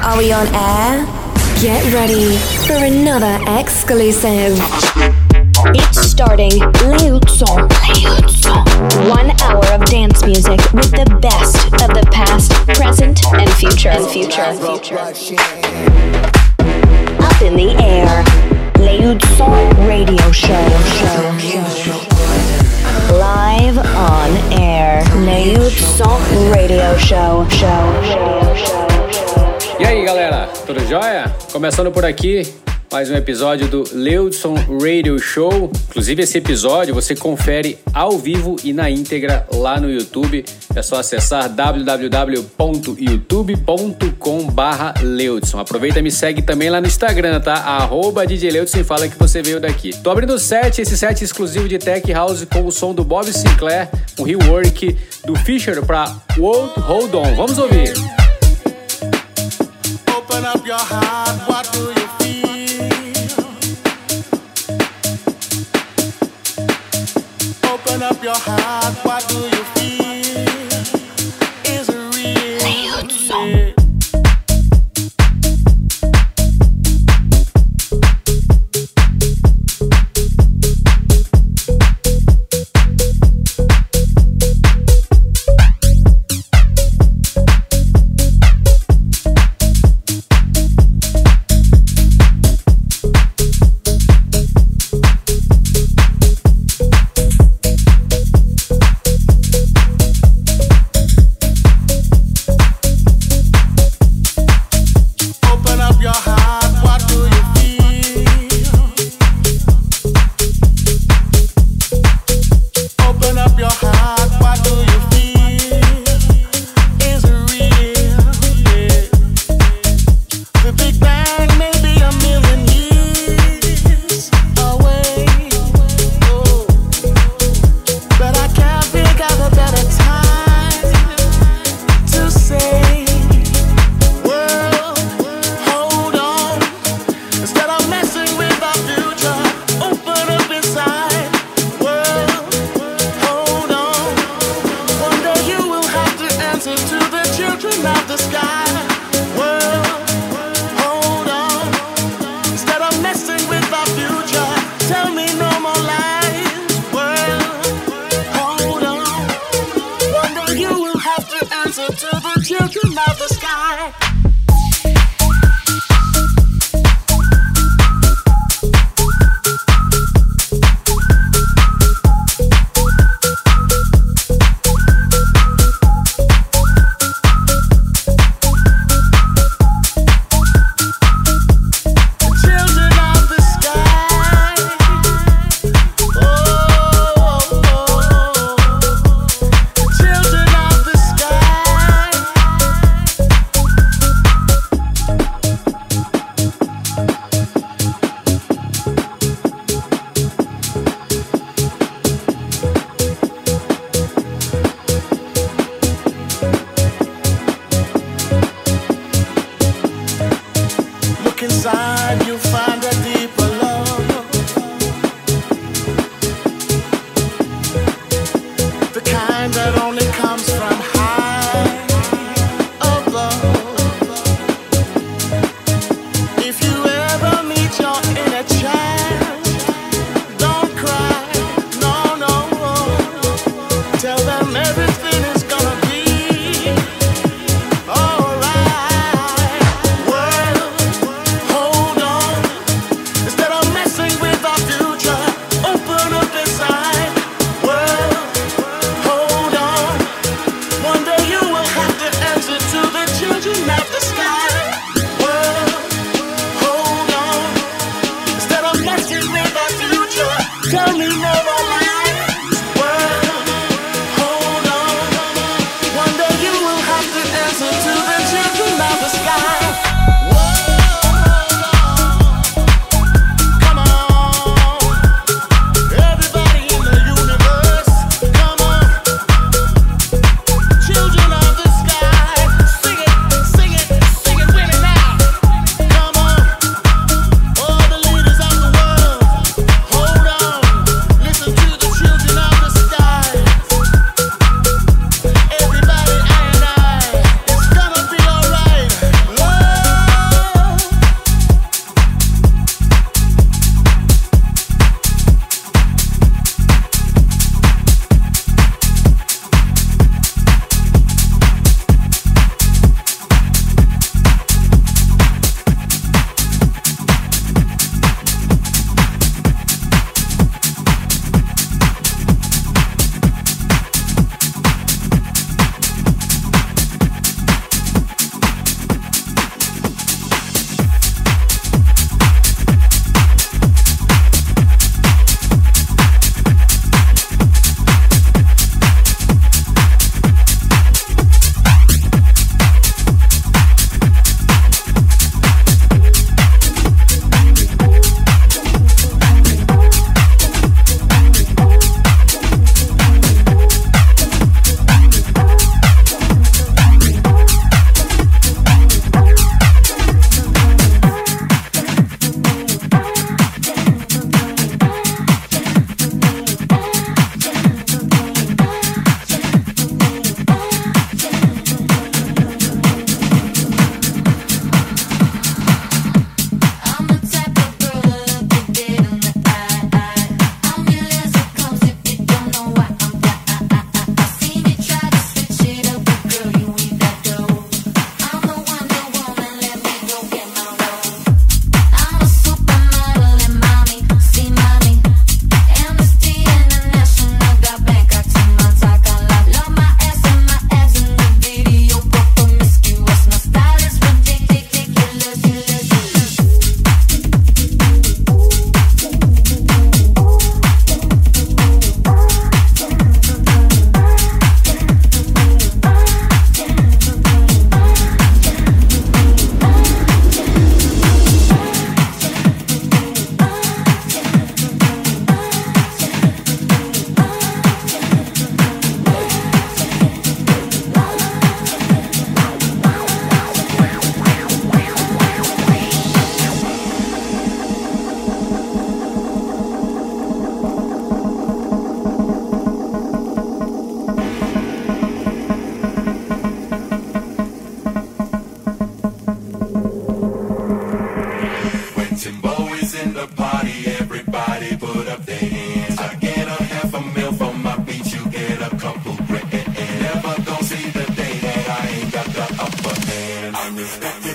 Are we on air? Get ready for another exclusive. It's starting. Leutson. 1 hour of dance music with the best of the past, present, and future. Up in the air. Leutson Radio Show. Live on air. Leutson Radio Show. E aí, galera, tudo jóia? Começando por aqui, mais um episódio do Leutson Radio Show. Inclusive, esse episódio você confere ao vivo e na íntegra lá no YouTube. É só acessar www.youtube.com/Leutson. Aproveita e me segue também lá no Instagram, tá? @DJ Leutson e fala que você veio daqui. Tô abrindo o set, esse set exclusivo de Tech House com o som do Bob Sinclair, um rework do Fisher pra Won't Hold On. Vamos ouvir. Open up your heart, what do you feel? Open up your heart, what do you feel? Is it real? Leutson.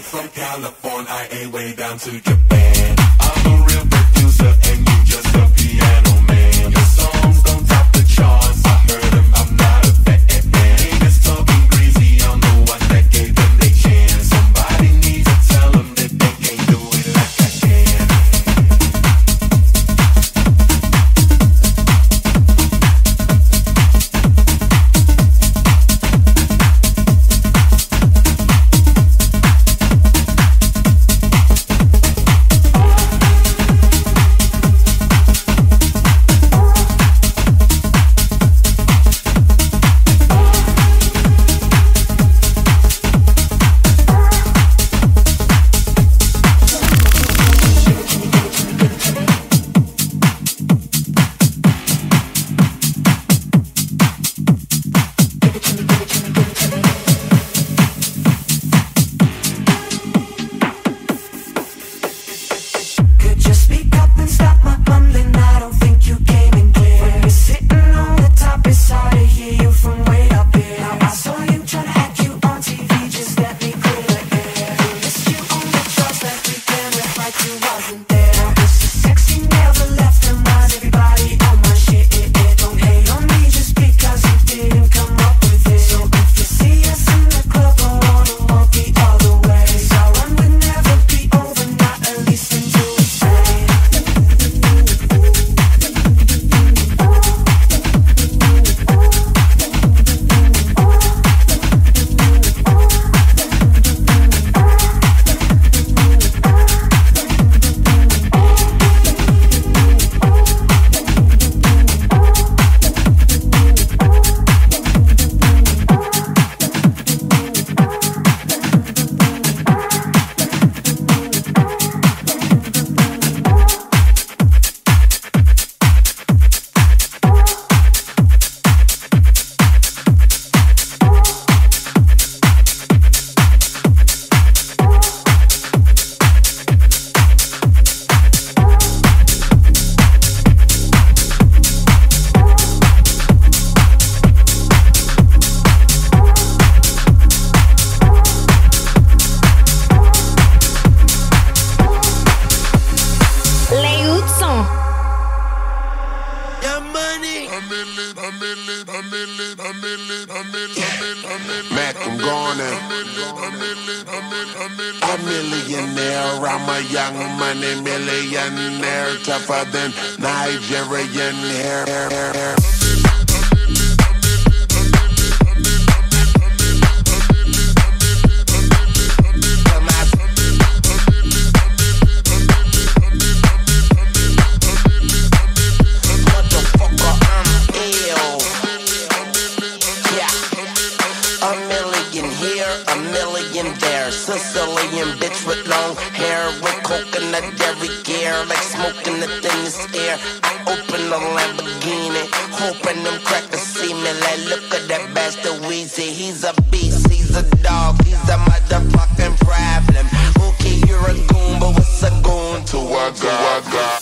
from California, I way down to Japan. I'm a real producer and you just a piano man. Your songs don't top the charts, I heard them, I'm not a fan. Haters talking greasy, I'm the one that gave them their chance. Somebody needs to tell them that they can't do it like I can. Mac, I'm going in. A millionaire, I'm a young money millionaire, tougher than Nigerian hair. Sicilian bitch with long hair, with coconut every gear, like smoking the thinnest air. I open a Lamborghini, hoping them crackers see me. Like, look at that bastard Weezy. He's a beast, he's a dog, he's a motherfucking problem. Okay, you're a goon, but what's a goon to a girl?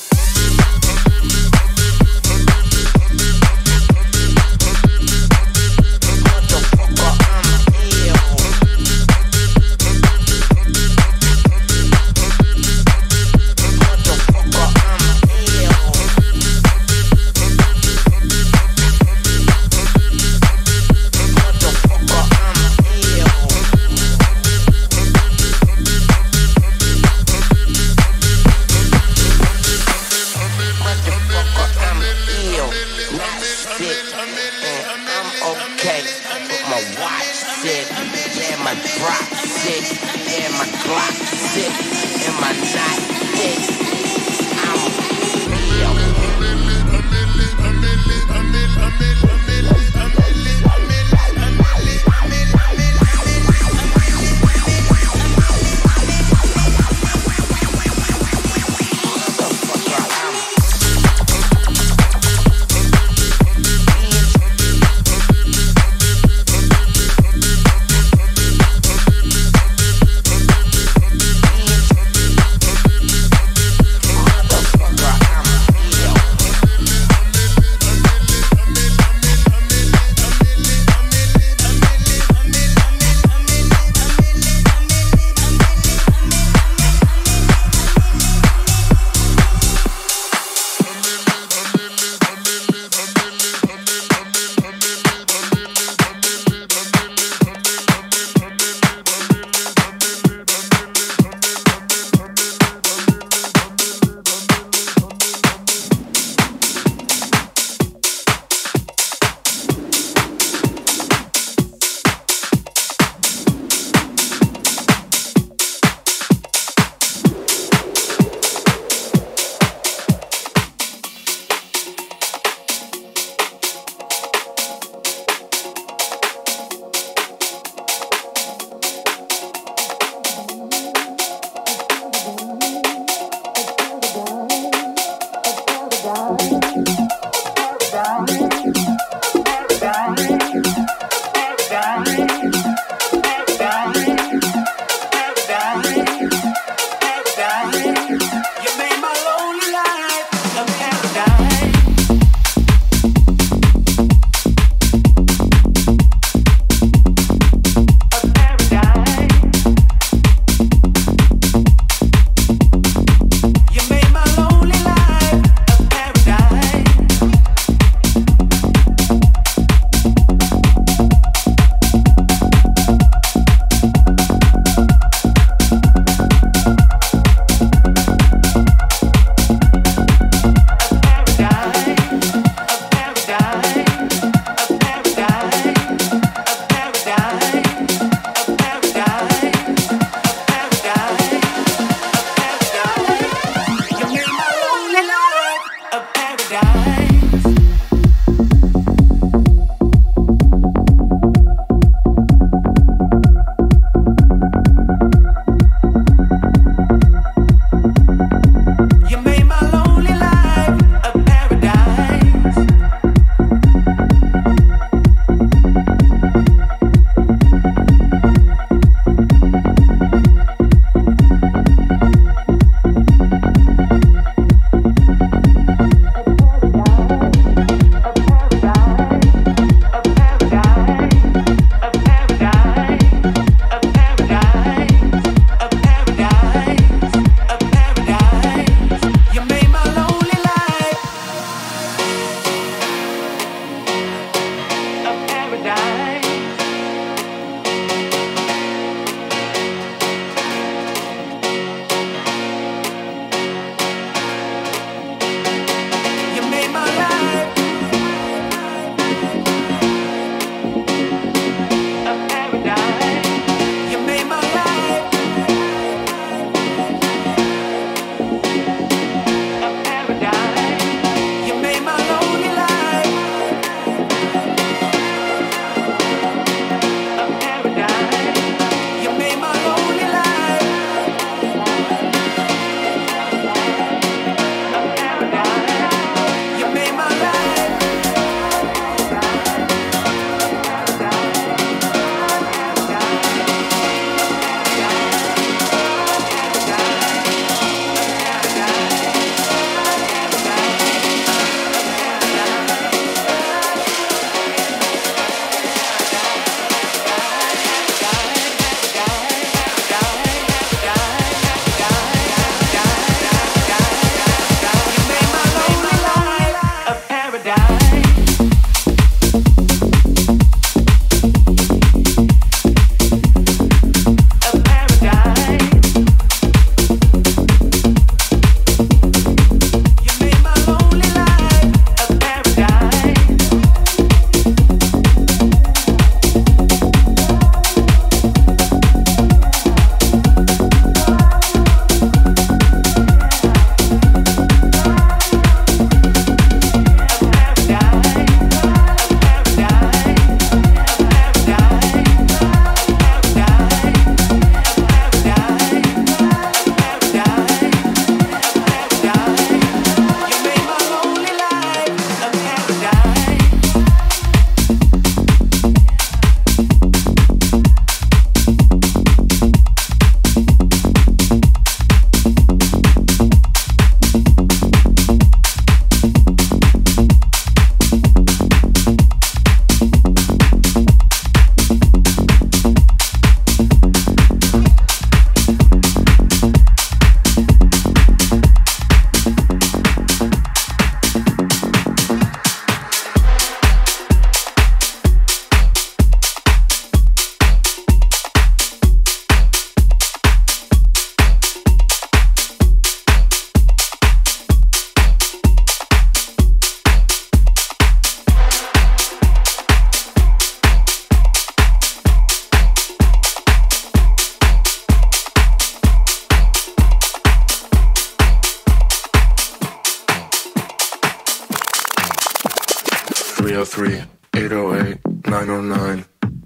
303 808 909.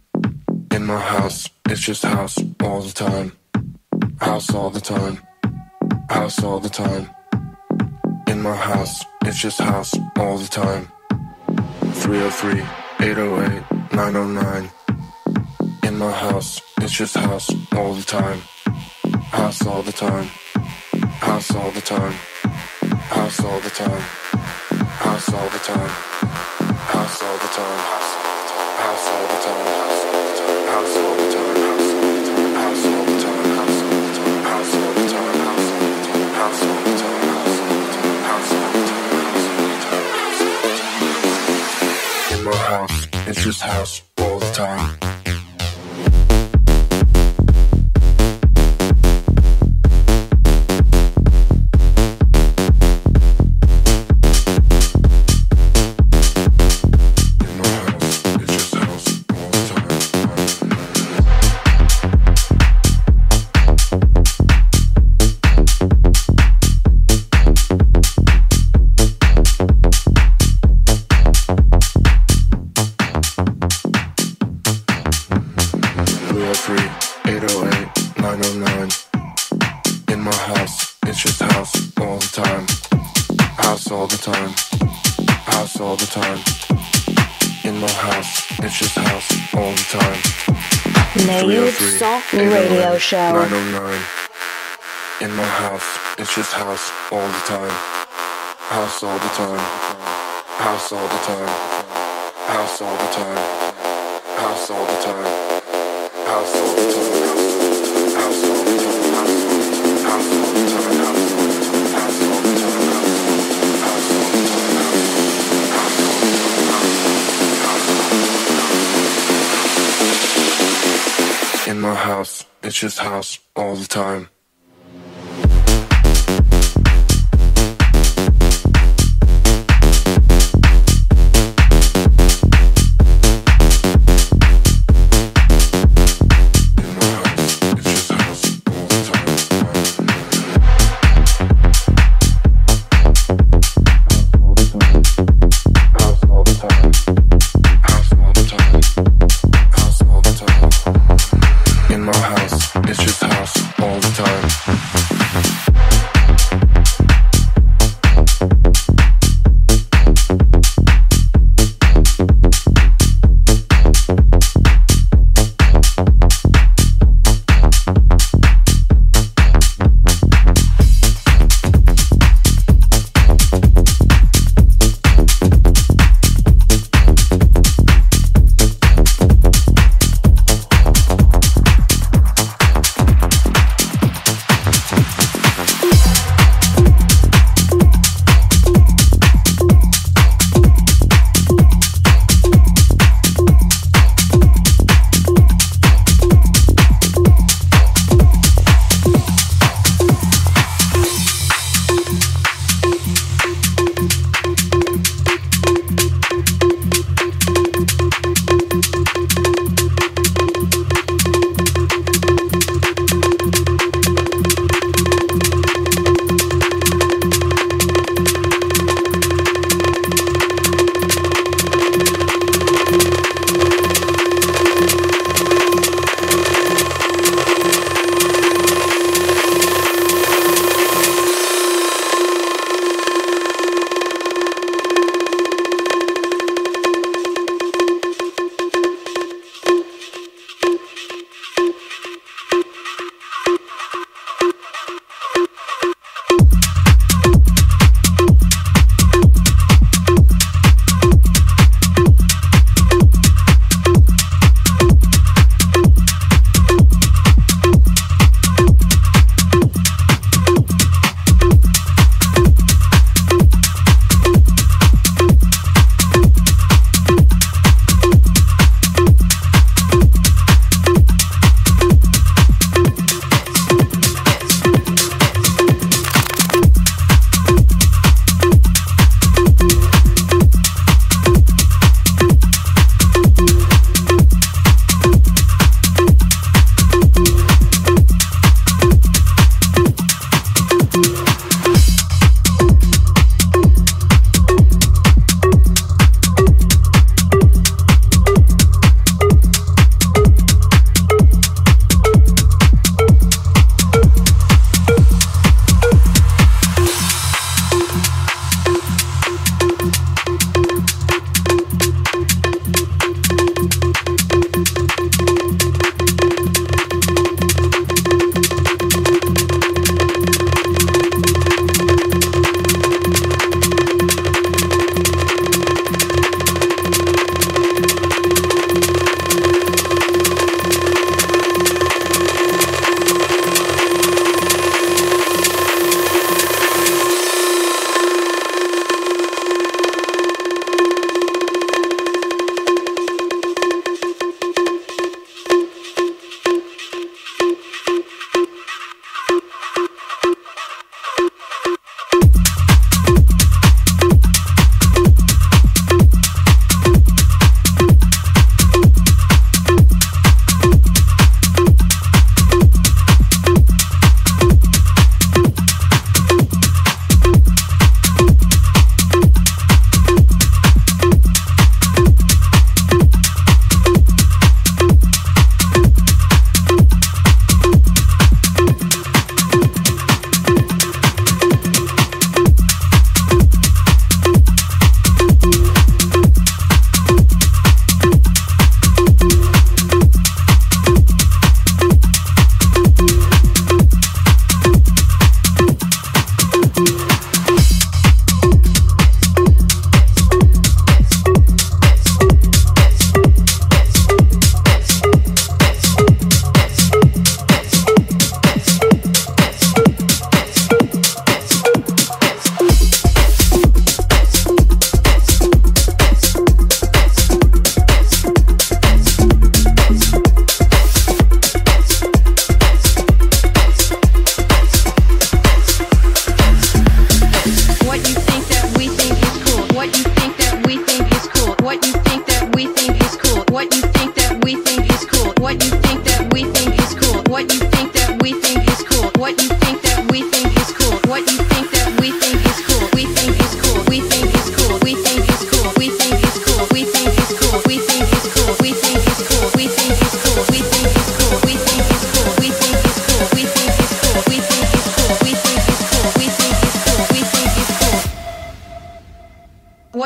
In my house, it's just house all the time. House all the time. House all the time. In my house, it's just house all the time. 303 808 909. In my house, it's just house all the time. House all the time. House all the time. House all the time. House all the time. House all the time. House all the time. House all the time. House all the time. House all the time. House all the time. House all the time. House all the time. In my house, it's just house all the time. Radio show. 909. In my house, it's just house all the time. House all the time. House all the time. House all the time. House all the time. House all the time. House all the time. House all the time. House all the time. House all the time. In my house, it's just house all the time.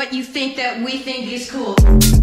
what you think that we think is cool.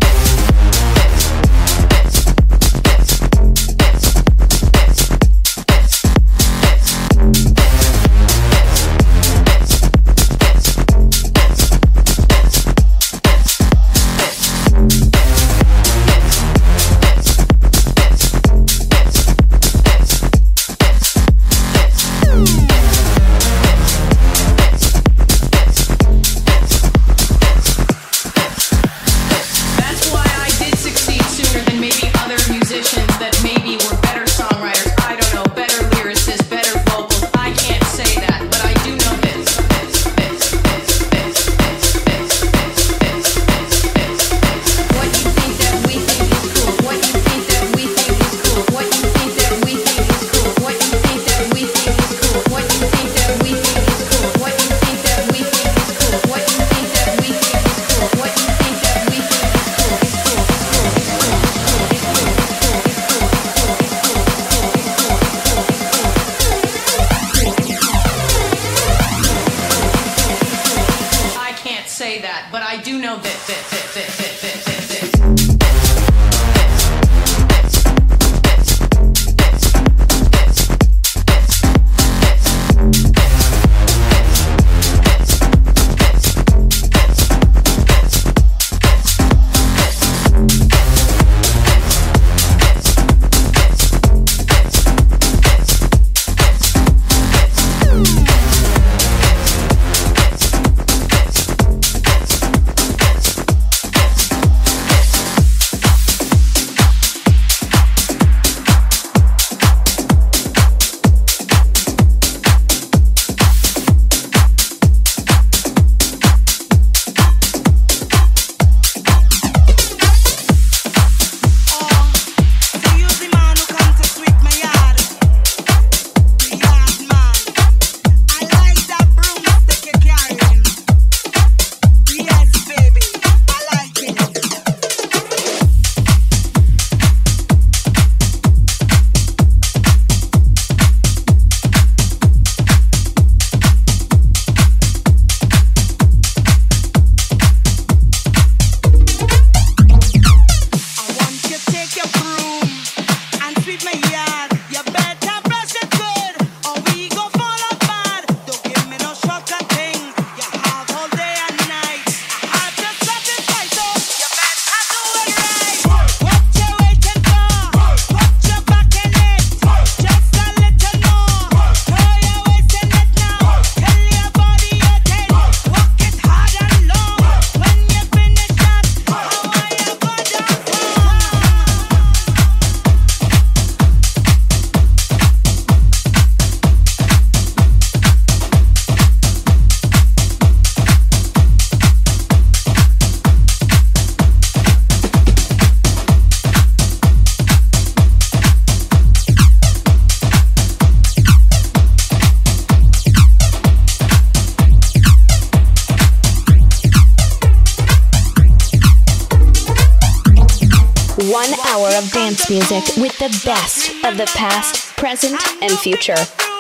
Dance music with the best of the past, present, and future.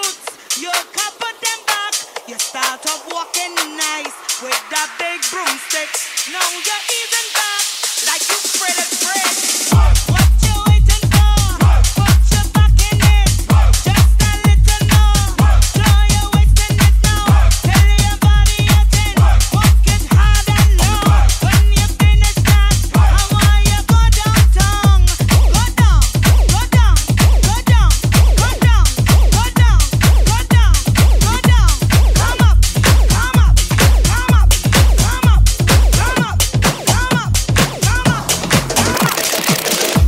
You start off walking nice with that big broomstick. Now you're easing back like you spread it bread. What you waiting for? Put your back in it. Just a little more. Show you wasting it now. Tell your body you're in. Walk it hard and low. When you finish that, I want you go downtown. Go down, go down, go down, go down, go down, go down, go down. Come up, come up, come up, come up, come up, come up, come up, come up.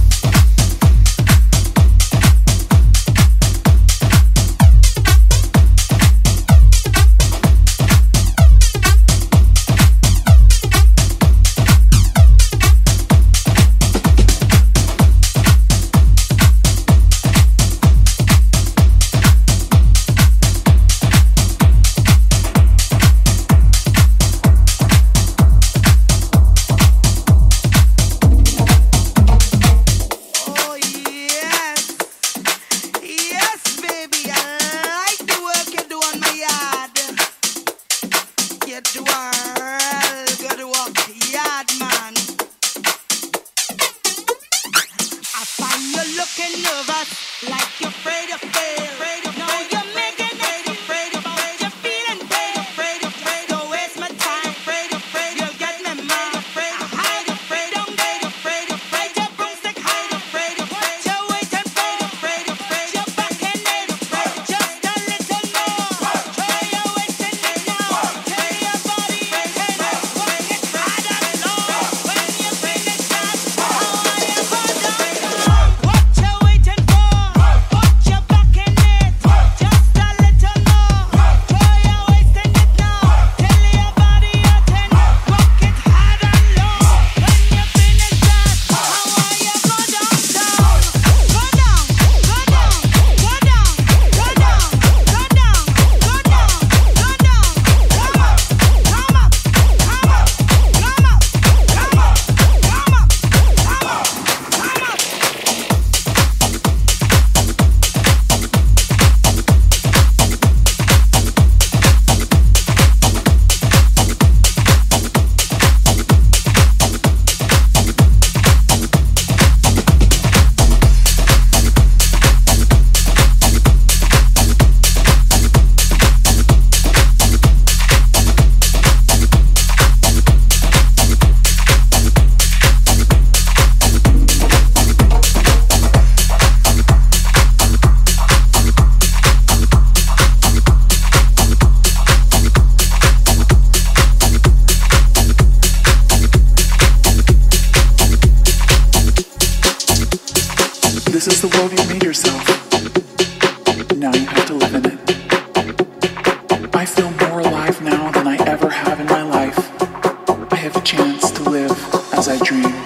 feel more alive now than I ever have in my life. I have a chance to live as I dreamed.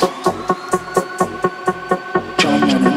John Lennon.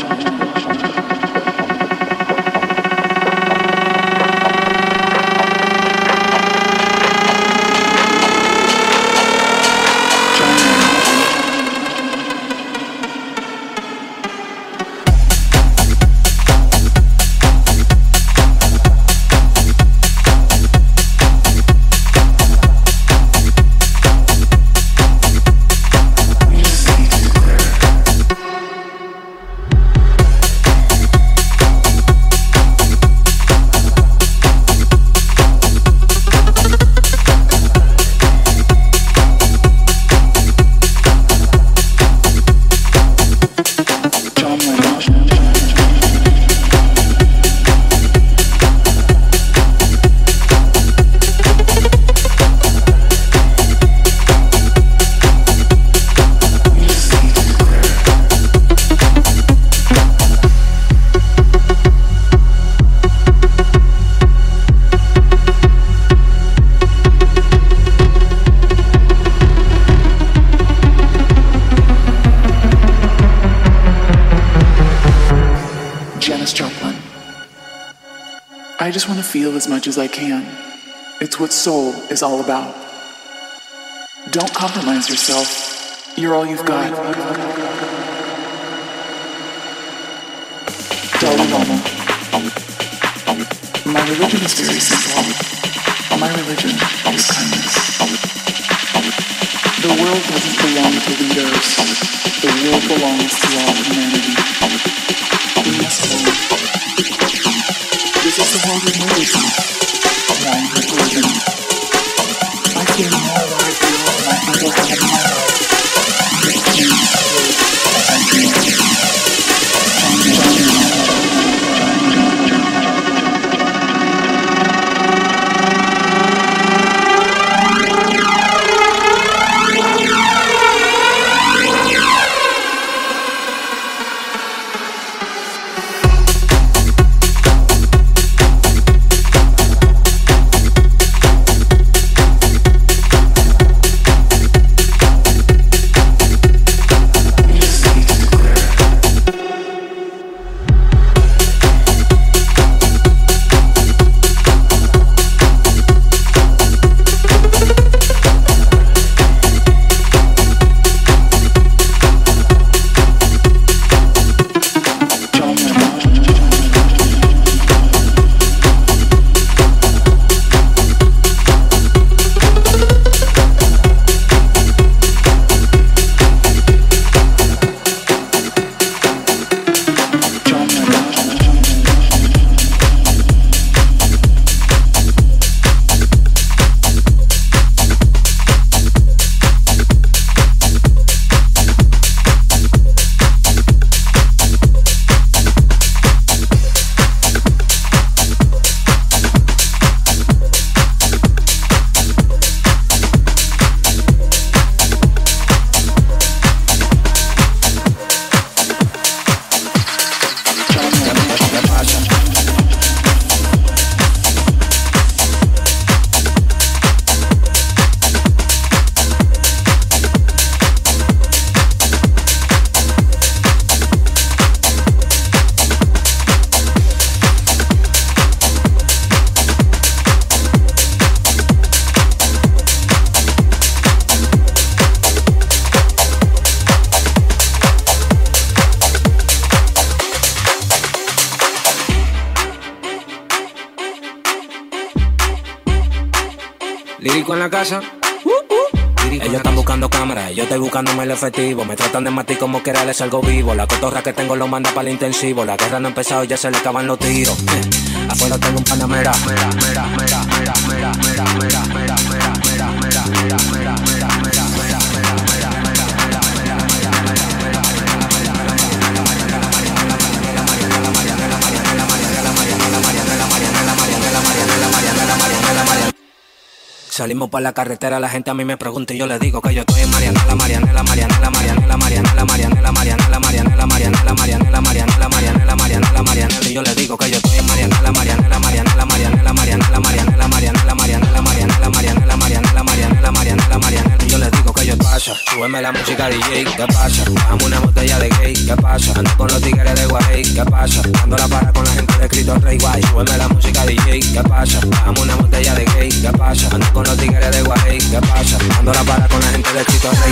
I just want to feel as much as I can. It's what soul is all about. Don't compromise yourself. You're all you've got. Dalai Lama. My religion is very simple. My religion is kindness. The world doesn't belong to leaders. The world belongs to all humanity. We must live. This is the world we live in. Lying for religion. I feel more alive than I ever have in my life. I can't live as I dream. Lírico en la casa. Ellos están buscando cámaras, yo estoy buscándome el efectivo. Me tratan de matar como quiera, les salgo vivo. La cotorra que tengo lo manda para el intensivo. La guerra no ha empezado y ya se le acaban los tiros. Afuera tengo un panamera. Salimos por la carretera, la gente a mí me pregunta y yo le digo que yo estoy en Marianela, Marianela, Marianela, Marianela, Marianela, Marianela, Marianela, Marianela, Marianela, Marianela, Marianela, Marianela, Marianela, Marianela, y yo le digo que yo estoy en Marianela, Marianela, Marianela, Marianela, Marianela, Marianela, Marianela, súbeme la música DJ, ¿qué pasa? Bajamos una botella de gay, ¿qué pasa? Ando con los tigres de Guay, ¿qué pasa? Dando la para con la gente de Cristo Rey Guay, súbeme la música DJ, ¿qué pasa? Bajamos una botella de gay, ¿qué pasa? Ando con los tigres de Guay, ¿qué pasa? Dando la para con la gente de Cristo Rey.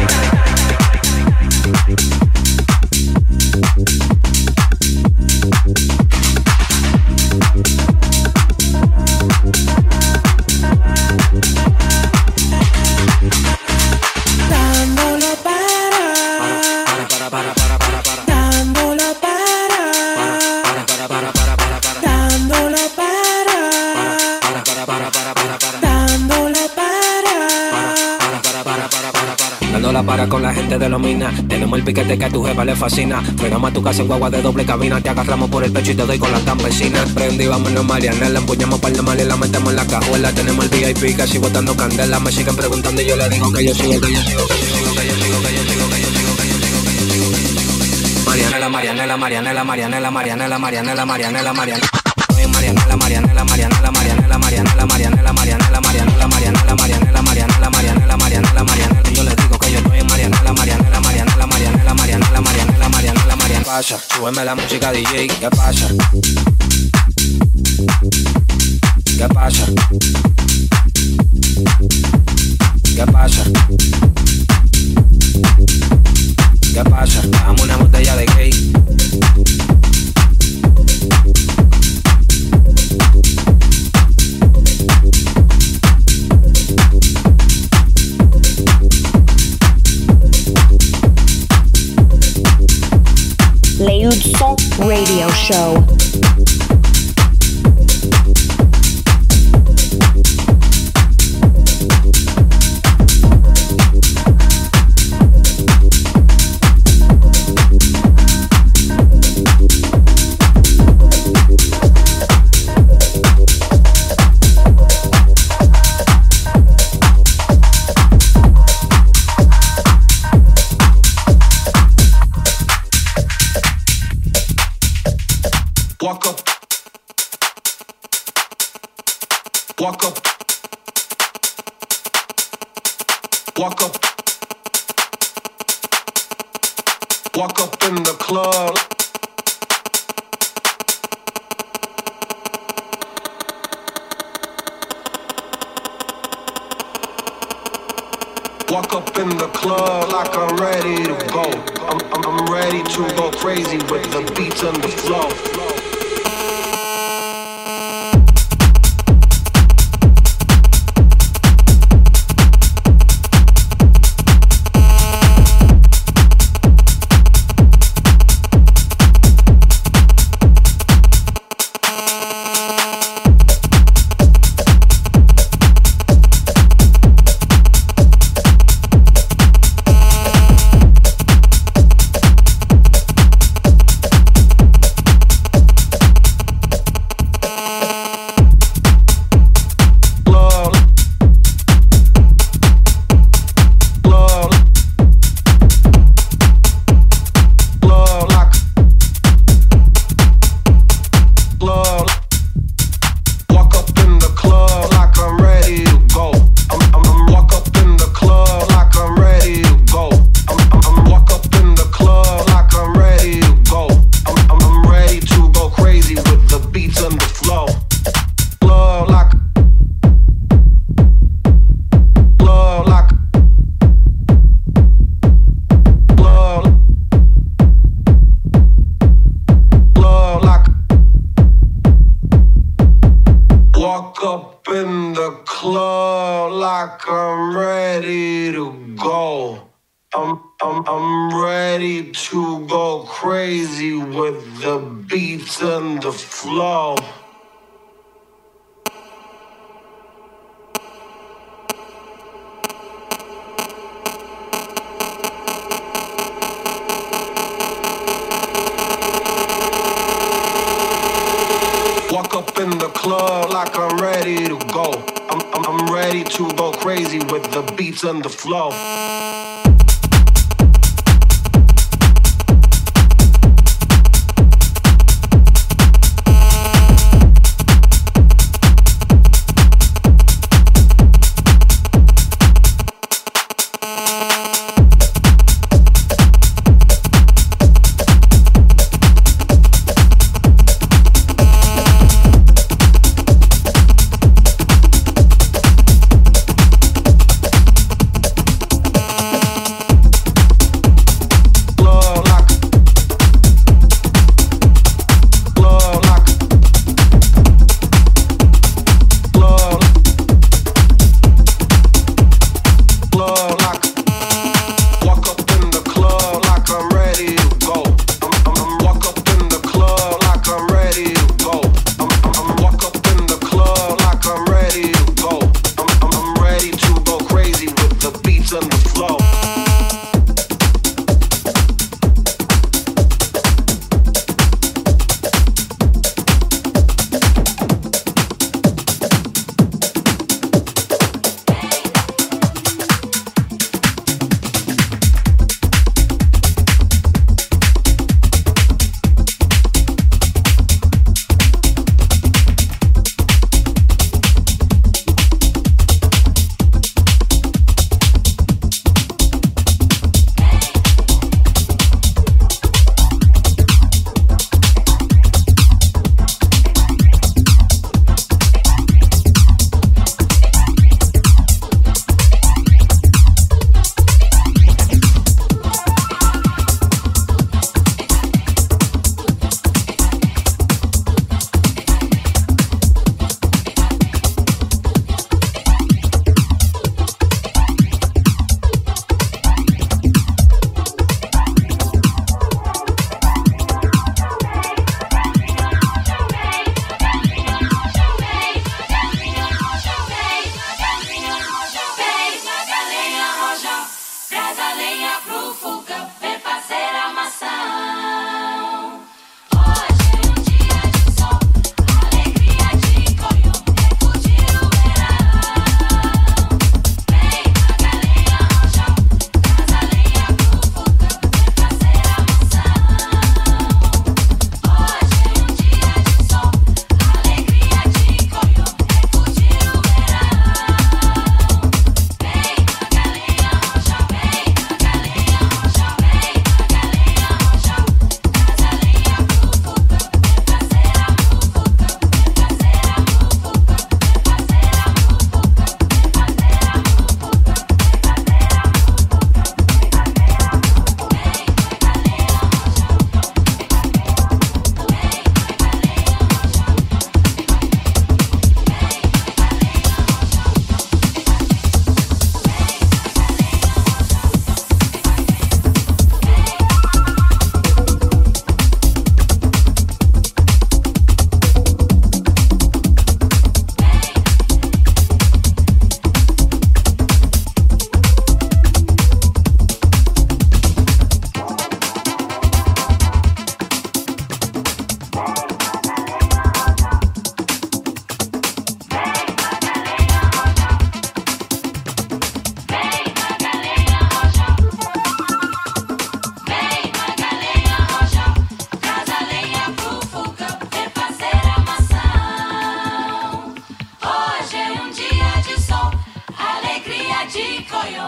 Para con la gente de los minas, tenemos el piquete que a tu jefa le fascina. Frenamos a tu casa en guagua de doble cabina, te agarramos por el pecho y te doy con la campesina. Prendí, vámonos Marianela, empuñamos par de mal y la metemos en la cajuela. Tenemos el VIP casi botando candela, me siguen preguntando y yo le digo que yo sigo, que yo sigo, que yo sigo, que yo sigo, que yo sigo, que yo sigo, que yo sigo, que yo sigo. Marianela, Marianela, Marianela, Marianela, Marianela, Marianela, Marianela, Marianela. Marianela, Marianela, Marianela, Marianela, Marianela, Marianela, Marianela, Marianela, Marianela, Marianela, Marianela, Marianela, Marianela, Marianela. Yo les digo que yo estoy en Marianela, Marianela, Marianela, Marianela, Marianela, Marianela, Marianela, Marianela. Pasa, súbeme la música DJ, ¿qué pasa? ¿Qué pasa? ¿Qué pasa? ¿Qué pasa? Dame una botella de gay. Léoud Son Radio Show. Walk up. Walk up. Walk up. Walk up in the club. Walk up in the club like I'm ready to go. I'm ready to go crazy with the beats and the flow. I'm ready to go crazy with the beats and the flow. Walk up in the club like I'm ready to go. I'm ready to go crazy with the beats and the flow.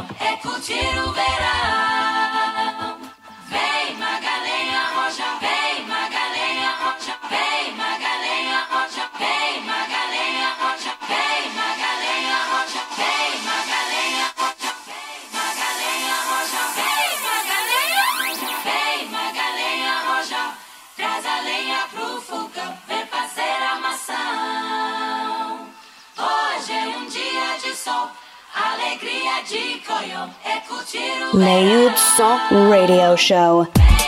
é curtir o verão. Vem Magalenha Rocha, vem Magalenha Rocha, vem Magalenha Rocha, vem Magalenha Rocha, vem Magalenha Rocha, vem Magalenha Rocha, vem Magalenha Rocha, vem Magalenha Rocha, vem Magalenha Rocha, traz a lenha pro fogão, vem fazer armação. Hoje é um dia de sol, alegria de coió, é curtir o Leilson Radio Show.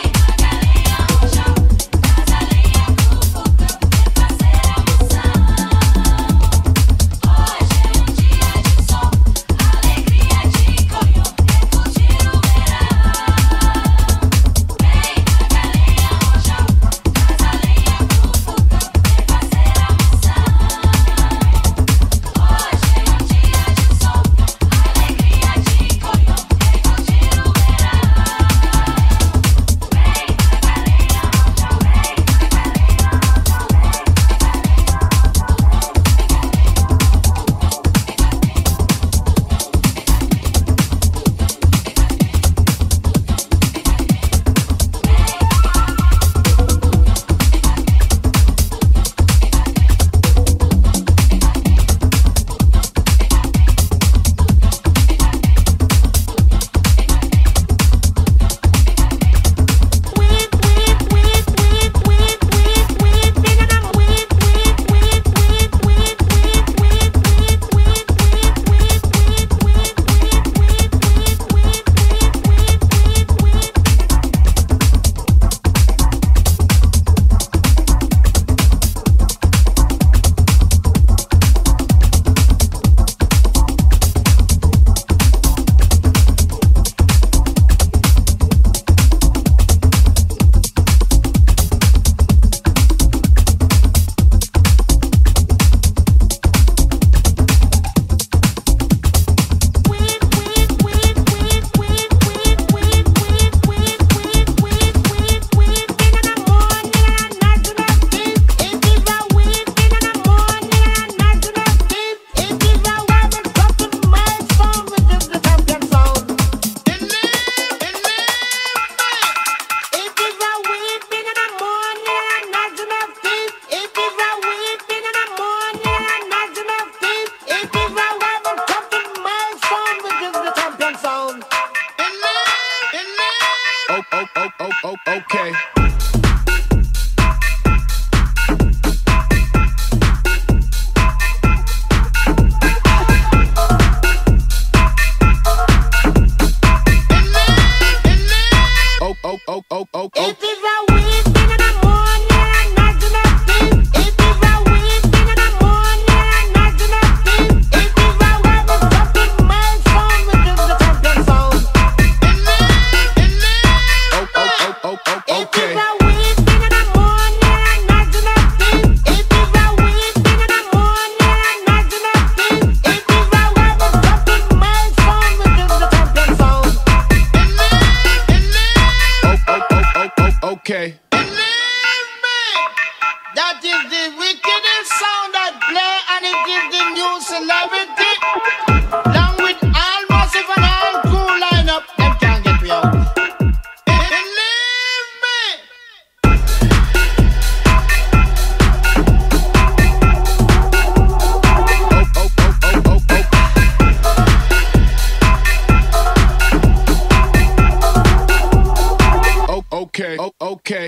Okay. Okay. That is the wickedest sound that play, and it gives the new celebrity. Along with all massive and all cool lineup, them can't get me out. Believe me. Okay. Okay.